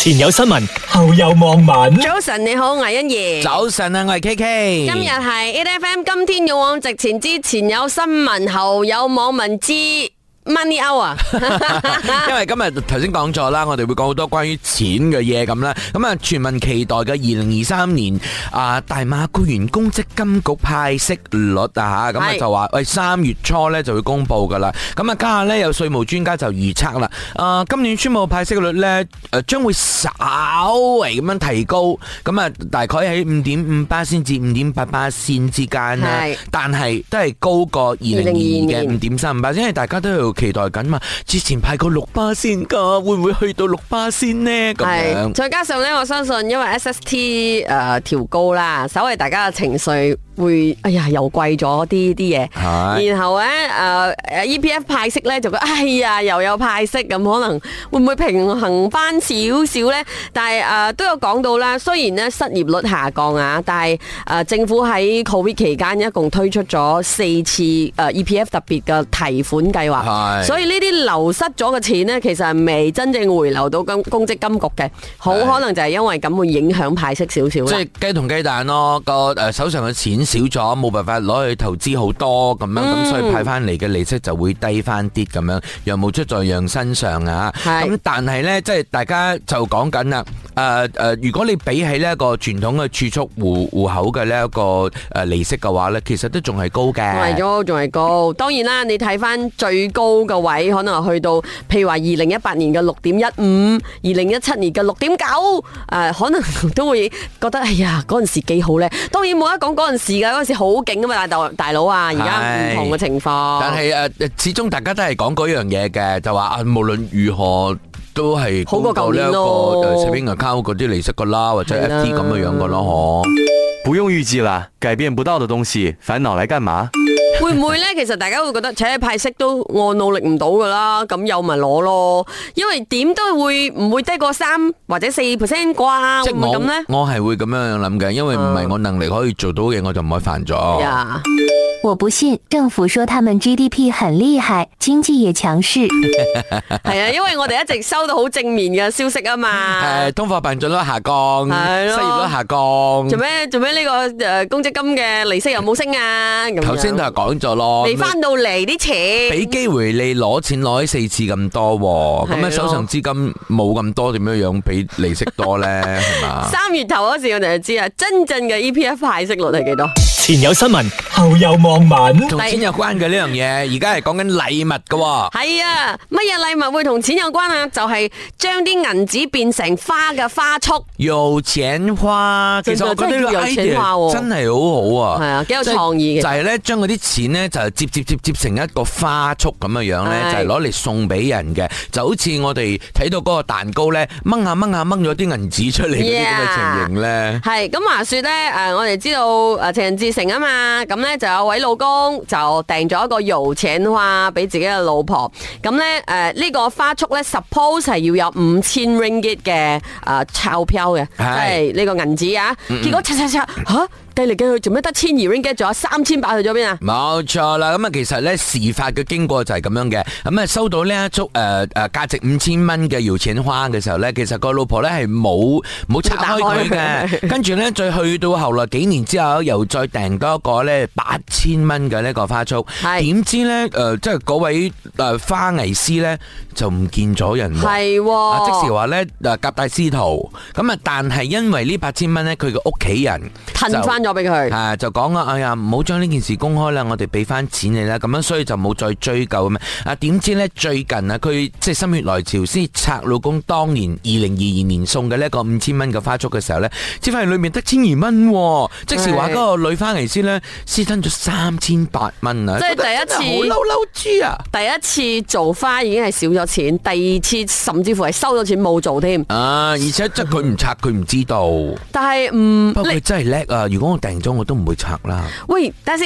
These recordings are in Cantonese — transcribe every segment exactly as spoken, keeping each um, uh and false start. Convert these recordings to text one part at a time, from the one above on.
前有新聞，後有網民。 早晨你好，我係欣怡。 早晨啊，我係 K K。 今日係 A F M， 今天勇往直前之前有新聞，後有網民知。Money out 啊！ 因為今日頭先講咗啦，我哋會講好多關於錢嘅嘢咁啦。咁啊，全民期待嘅二零二三年啊大馬僱員公積金局派息率啊吓，咁啊就話喂三月初咧就會公布噶啦。咁啊家下咧有稅務專家就預測啦，啊今年宣布派息率咧誒將會稍微咁樣提高，咁啊大概喺五點五巴仙至五點八巴仙之間啦。但係都係高過二零二二嘅五點三五巴仙，因為大家都要期待緊嘛，之前派過六巴仙噶，會唔會去到六巴仙呢？咁樣， 再加上咧，我相信因為 S S T 誒調高啦，稍微大家嘅情緒會，哎呀又貴咗啲啲嘢，然後咧誒誒 E P F 派息咧就覺得，哎呀又有派息，咁可能會唔會平衡翻少少咧？但係誒、呃、都有講到啦，雖然咧失業率下降啊，但係誒、呃、政府喺 Covid 期間一共推出咗四次誒、呃、E P F 特別嘅提款計劃。所以呢啲流失咗嘅錢呢，其實係未真正回流到公公積金局嘅，好可能就係因為咁會影響派息少少。 即係雞同雞蛋咯，個誒手上嘅錢少咗，冇辦法攞去投資好多咁樣，咁、嗯、所以派翻嚟嘅利息就會低翻啲咁樣，羊毛出在羊身上啊。咁但係呢，即係大家就講緊啦，誒、呃、誒，如果你比起呢一個傳統嘅儲蓄戶戶口嘅呢一個誒利息嘅話呢，其實都仲係高嘅。 係咗，仲係高。當然啦，你睇翻最高個位可能去到，譬如話二零一八年嘅六點一五，二零一七年嘅六點九，誒，可能都會覺得，哎呀，嗰陣時幾好咧。當然冇得講嗰陣時噶，嗰陣時好勁噶嘛，大大佬啊，而家唔同嘅情況。 但係誒，始終大家都係講嗰樣嘢嘅，就話啊，無論如何都係好過舊年咯。 誒，saving account嗰啲利息噶啦，或者 F D 咁嘅樣噶咯，嗬。 不用預計啦，改變不到的東西，煩惱來幹嘛？ 會唔會咧？其實大家會覺得，且派息都我努力唔到噶啦，咁有咪攞咯？因為點都會唔會低過三或者四 percent 啩？會唔會咁咧？ 我係會咁樣諗嘅，因為唔係我能力可以做到嘅，我就唔可以犯咗。 Yeah. 我不信，政府說他們 G D P 很厲害，經濟也強勢。 係啊，因為我哋一直收到好正面嘅消息啊嘛。 係通貨膨脹率下降，失業率下降。 做咩做咩呢個誒公積金嘅利息又冇升啊？ 頭先就係講咗咯， 未翻到嚟啲錢， 俾機會你攞錢攞咗四次咁多，咁啊手上資金冇咁多，點樣樣俾利息多咧？係嘛？三月頭嗰時我哋就知啊，真正嘅 E P F 派息率係幾多？ 前有新聞，後有網民。 同錢有關嘅呢樣嘢，而家係講緊禮物噶。 係啊，乜嘢禮物會同錢有關啊？就係將啲銀紙變成花嘅花束。有錢花，其實我覺得呢個 idea 真係好好啊。係啊，幾有創意嘅。就係咧，將嗰啲錢咧就接接接接成一個花束咁嘅樣咧，就係攞嚟送俾人嘅。就好似我哋睇到嗰個蛋糕咧，掹下掹下掹咗啲銀紙出嚟嗰啲咁嘅情形咧。係咁話說咧，誒，我哋知道誒情人節成啊嘛，咁咧就有位老公就訂咗一個有錢花俾自己嘅老婆，咁咧誒呢個花束咧 suppose 係要有五千 ringgit 嘅誒鈔票嘅，即係呢個銀紙啊，結果刷刷刷吓。計嚟計去做咩得千二 ringgit，仲有三千八去咗邊啊？冇錯啦，咁啊其實咧事發嘅經過就係咁樣嘅，咁啊收到呢一束誒誒價值五千蚊嘅有錢花嘅時候咧，其實個老婆咧係冇冇拆開佢嘅，跟住咧再去到後來幾年之後，又再訂多一個咧八千蚊嘅呢個花束，點知咧誒即係嗰位誒花藝師咧就唔見咗人，係喎，即時話咧誒夾帶私逃，咁啊但係因為呢八千蚊咧，佢嘅屋企人褪翻咗俾佢，係就講啊，哎呀，唔好將呢件事公開啦，我哋俾翻錢你啦，咁樣所以就冇再追究咁啊。點知咧最近啊，佢即係心血來潮，先拆老公當年二零二二年送嘅呢一個五千蚊嘅花束嘅時候咧，只發現裏面得千二蚊，即時話嗰個女花藝師咧私吞咗三千八蚊啊！即係第一次好嬲嬲豬啊！第一次做花已經係少咗錢，第二次甚至乎係收咗錢冇做添啊！而且即係佢唔拆，佢唔知道。但係唔，不過佢真係叻啊！如果我訂咗我都唔會拆啦。喂，等下先啊！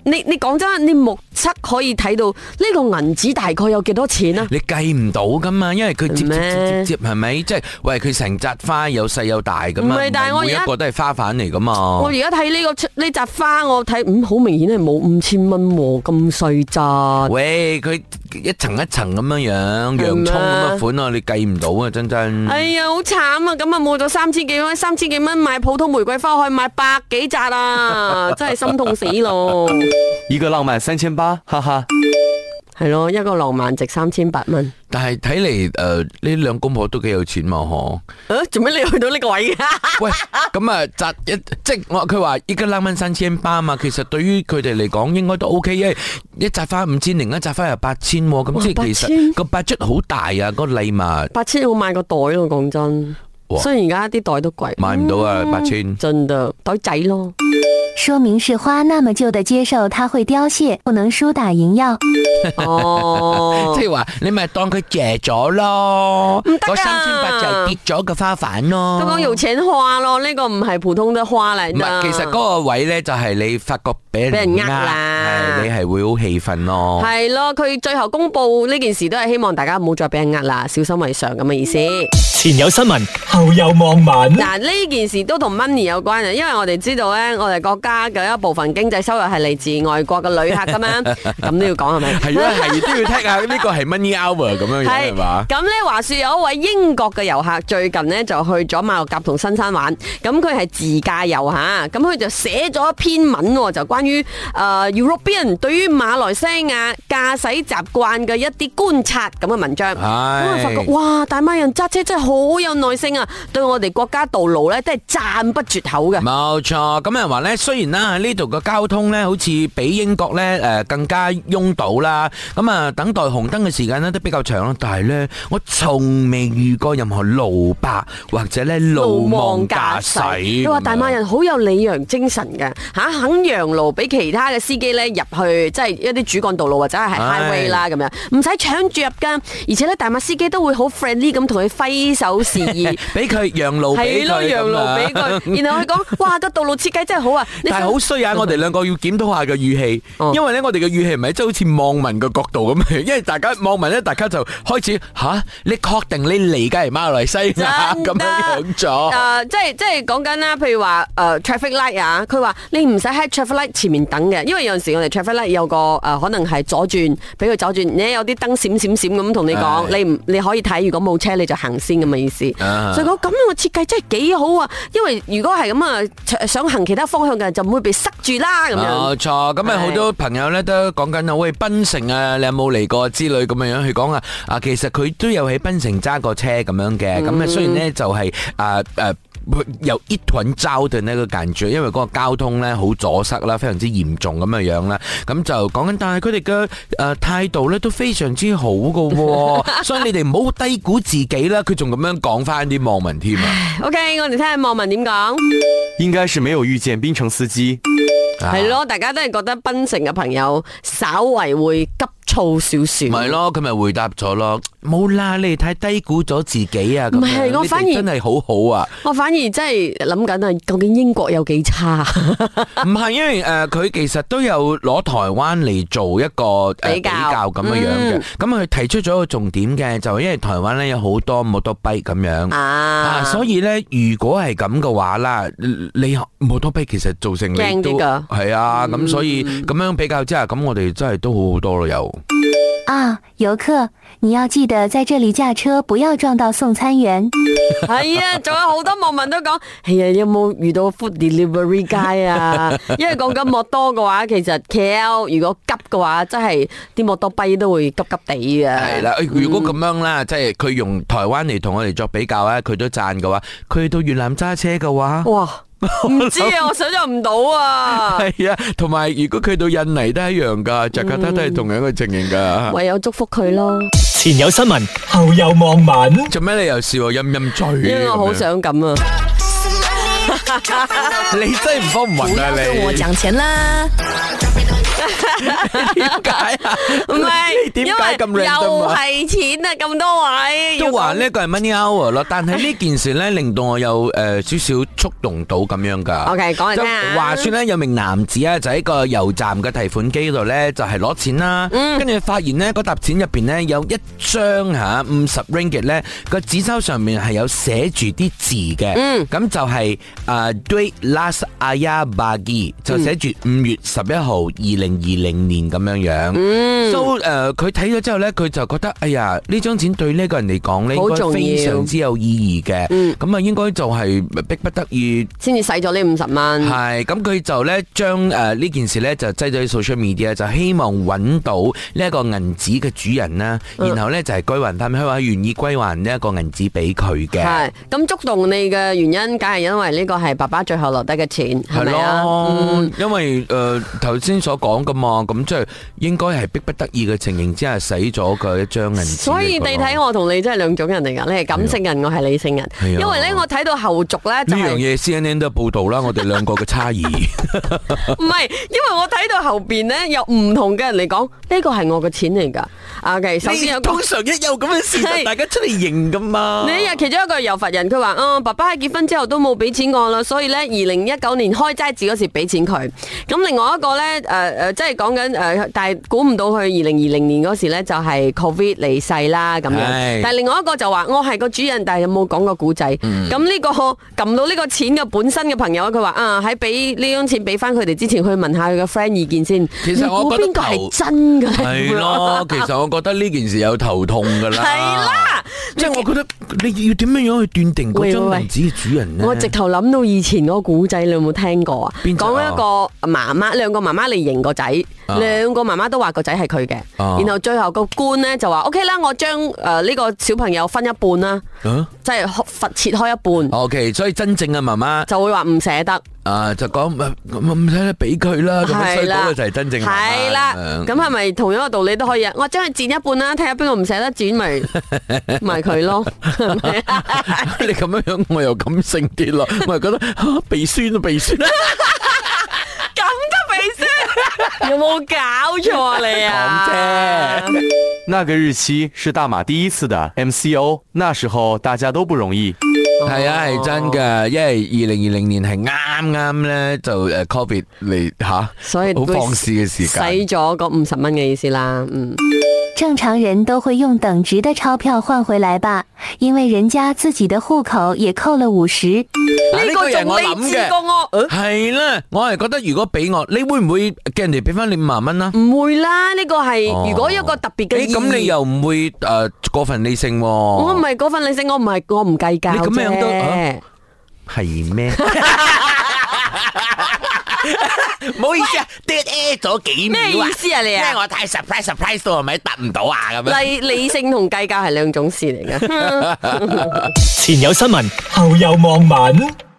你你講真，你目測可以睇到呢個銀紙大概有幾多錢啊？ 你計唔到噶嘛，因為佢接接接接接係咪？即係喂，佢成扎花有細有大噶嘛，唔係，但係我每一個都係花瓣嚟噶嘛。 我而家睇呢個呢扎花，我睇嗯好明顯係冇五千蚊喎，咁細扎。 喂，佢一層一層咁樣樣，洋蔥咁嘅款啊，你計唔到啊，真真。 哎呀，好慘啊！咁啊冇咗三千幾蚊，三千幾蚊買普通玫瑰花可以買百幾扎啊，真係心痛死咯！ 一個浪漫三千八，哈哈。 係咯，一個浪漫值三千八蚊。 但係睇嚟誒，呢兩公婆都幾有錢嘛，嗬？ 誒，做咩你去到呢個位嘅？ 喂，咁啊，扎一即係我佢話一個浪漫三千八嘛，其實對於佢哋嚟講應該都 OK，因為一扎花五千，另一扎花又八千，咁即係其實個 budget 好大啊，個禮物。 八千我買個袋咯，講真。雖然而家啲袋都貴， 買唔到啊，八千。 真的袋仔咯。 說明是花那麼舊的接受它會凋謝，不能輸打贏要。 哦， 即係話你咪當佢借咗咯， 唔得啊！ 嗰三千八就跌咗個花瓣咯。 都講有錢花咯，呢、這個唔係普通的花嚟。唔係， 其實嗰個位咧就係你發覺俾人呃啦，係你係會好氣憤咯。係咯，佢最後公布呢件事都係希望大家唔好再俾人呃啦，小心為上咁嘅意思。 前有新聞，後有網民。 嗱，呢件事都同 money 有關啊，因為我哋知道咧，我哋國家嘅一部分經濟收入係嚟自外國嘅旅客噶嘛，咁都要講係咪？係啊，係都要聽下呢個係 money hour 咁樣樣係嘛？咁咧話說有一位英國嘅遊客最近咧就去咗馬六甲同新山玩，咁佢係自駕遊吓，咁佢就寫咗一篇文，就關於誒、呃、European 對於馬來西亞駕駛習慣嘅一啲觀察咁嘅文章。咁我發覺哇，大馬人揸車真係好有耐性啊，對我哋國家道路咧都係讚不絕口嘅。冇錯，咁人話咧，雖然啦喺呢度嘅交通咧好似比英國咧誒更加擁堵啦，咁啊等待紅燈嘅時間咧都比較長啦，但係咧我從未遇過任何路霸或者咧路盲駕駛。你話大馬人好有禮讓精神嘅吓，肯讓路俾其他嘅司機咧入去，即係一啲主幹道路或者係 highway 啦咁樣，唔使搶住入噶，而且咧大馬司機都會好 friendly 咁同佢揮手示意，俾佢讓路俾佢，係咯，讓路俾佢，然後佢講哇個道路設計真係好啊！但係好衰啊！我哋兩個要檢討下個語氣，因為咧我哋嘅語氣唔係即係好似網民嘅角度咁，因為大家網民咧，大家就開始吓，你確定你嚟緊係馬來西亞咁樣樣咗？誒，即係即係講緊啦，譬如話誒 traffic light 啊，佢話你唔使喺 traffic light 前面等嘅，因為有陣時我哋 traffic light 有個誒可能係左轉，俾佢左轉，你有啲燈閃閃閃咁同你講，你唔你可以睇，如果冇車你就行先咁嘅意思。所以講咁樣嘅設計真係幾好啊！因為如果係咁啊，想行其他方向嘅人就唔會被塞住啦。咁樣冇錯，咁啊好多朋友咧都講緊啊，喂，檳城啊，你有冇嚟過之類咁樣樣去講啊？啊，其實佢都有喺檳城揸過車咁樣嘅，咁啊雖然咧就係誒誒。有一團糟嘅呢個感覺，因為嗰個交通咧好阻塞啦，非常之嚴重咁嘅樣啦。咁就講緊，但係佢哋嘅誒態度咧都非常之好噶，所以你哋唔好低估自己啦。佢仲咁樣講翻啲網民添啊。OK， 我哋聽下網民點講。 應該是沒有遇見檳城司機。 係咯，大家都係覺得檳城嘅朋友稍為會急躁少少。唔係咯，佢咪回答咗咯，冇啦，你哋太低估咗自己啊！唔係，我反而真係好好啊！我反而真係諗緊啊，究竟英國有幾差？唔係，因為誒佢、呃、其實都有攞台灣嚟做一個、呃、比較咁樣樣嘅。咁佢、嗯、提出咗一個重點嘅，就因為台灣咧有好多摩托跛咁樣啊，啊，所以咧如果係咁嘅話啦，你摩托跛其實造成你都係啊，咁、嗯、所以咁樣比較之下，咁我哋真係都好好多咯，有。 啊，遊客，你要記得在這裡駕車，不要撞到送餐員。 係啊，仲有好多網民都講，係啊，有冇遇到 food delivery guy 啊？因為講緊摩多嘅話，其實 K L 如果急嘅話，真係啲摩多跛都會急急地嘅。係啦，如果咁樣啦，即係佢用台灣嚟同我哋作比較咧，佢都讚嘅話，佢到越南揸車嘅話，哇！唔知啊，我想象唔到啊。係啊，同埋如果佢到印尼都係一樣噶，雅加達都係同樣嘅情形噶。唯有祝福佢咯。 前有新聞，後有網民。 做咩你又笑我陰陰嘴？因為我好想咁啊。 你真係唔慌唔暈啊你。我講錢啦。 點解啊？ 唔係， 點解咁靚？ 又係錢啊！咁多位都話呢個係 money hour 咯，但係呢件事咧令到我有誒少少觸動到咁樣噶。 OK， 講嚟聽下。 話說咧，有名男子啊，就喺個油站嘅提款機度咧，就係攞錢啦。跟住發現咧，嗰沓錢入邊咧有一張吓五十 ringgit 咧，個紙鈔上面係有寫住啲字嘅。嗯，咁就係誒 Duit Last Ayah Bagi，就寫住五月十一號二零二零年咁樣樣。嗯，所以誒佢睇咗之後咧，佢就覺得哎呀呢張錢對呢個人嚟講咧，應該非常之有意義嘅。嗯，咁啊應該就係逼不得已先至使咗呢五十蚊。 係，咁佢就咧將誒呢件事咧就擠咗喺 social media，就希望揾到呢一個銀紙嘅主人啦，然後咧就係歸還翻，佢話願意歸還呢一個銀紙俾佢嘅。 係，咁觸動你嘅原因，梗係因為呢個係爸爸最後留低嘅錢，係咪啊？ 嗯，因為誒頭先所講噶嘛，咁即係應該係逼不得已嘅情形之下使咗嘅一張銀紙。 所以你睇我同你真係兩種人嚟噶，你係感性人，我係理性人。因為咧我睇到後續咧就係呢樣嘢 C N N 都報道啦，我哋兩個嘅差異。 唔係，因為我睇到後邊咧有唔同嘅人嚟講，呢個係我嘅錢嚟噶。OK， 首先有通常一有咁嘅事就大家出嚟認噶嘛。 你日其中一個油佛人，佢話：啊，爸爸喺結婚之後都冇俾錢我啦，所以咧二零一九年開齋節嗰時俾錢佢。咁另外一個咧，誒、呃、誒，即係講緊誒，但係估唔到佢二零二零年嗰時咧就係 Covid 離世啦咁樣。但係另外一個就話：我係個主人，但係有冇講過古仔？咁呢、嗯這個撳到呢個錢嘅本身嘅朋友，佢話：啊，喺俾呢張錢俾翻佢哋之前，去問下佢嘅 friend 意見先。 其實我覺得邊個係真㗎？ 係咯，其實我覺得呢件事有頭痛噶啦。 係啦， 即係我覺得你要點樣樣去斷定嗰張銀紙嘅主人呢？ 我直頭諗到以前嗰個古仔，你有冇聽過啊？講一個媽媽，兩個媽媽嚟認個仔，兩、啊、個媽媽都話個仔係佢嘅，啊、然後最後個官咧就話 ：，OK 啦，我將誒呢個小朋友分一半啦，啊、即係罰切開一半。 OK， 所以真正嘅媽媽就會話唔捨得。 啊，就講唔唔使得俾佢啦，咁所以嗰個就係真正嘅媽媽。 係啦，咁係咪同樣個道理都可以啊？我將佢剪一半啦，睇下邊個唔捨得剪，咪咪佢咯。 你咁樣樣，我又感性啲咯，我係覺得鼻酸啊，鼻酸。 咁嘅鼻酸，有冇搞錯啊你啊？ 講啫。那個日期是大馬第一次的 M C O， 那時候大家都不容易。 係啊，係真噶，因為二零二零年係啱啱咧就誒 Covid 嚟吓，所以好放肆嘅時間， 使咗嗰五十蚊嘅意思啦。嗯， 正常人都會用等值的鈔票換回來吧，因為人家自己的戶口也扣了五十。 呢個係我諗嘅，係啦，我係覺得如果俾我，你會唔會叫人哋俾翻你五萬蚊啊？ 唔會啦，呢個係如果一個特別嘅意義。 咁你又唔會誒過分理性？ 我唔係過分理性，我唔係我唔計較啫。 係咩？唔好意思啊，跌 A 咗幾秒啊！ 咩意思啊你啊？ 因為我太 surprise surprise 到，係咪答唔到啊？咁樣理理性同計較係兩種事嚟嘅。 前有新聞，後有網民。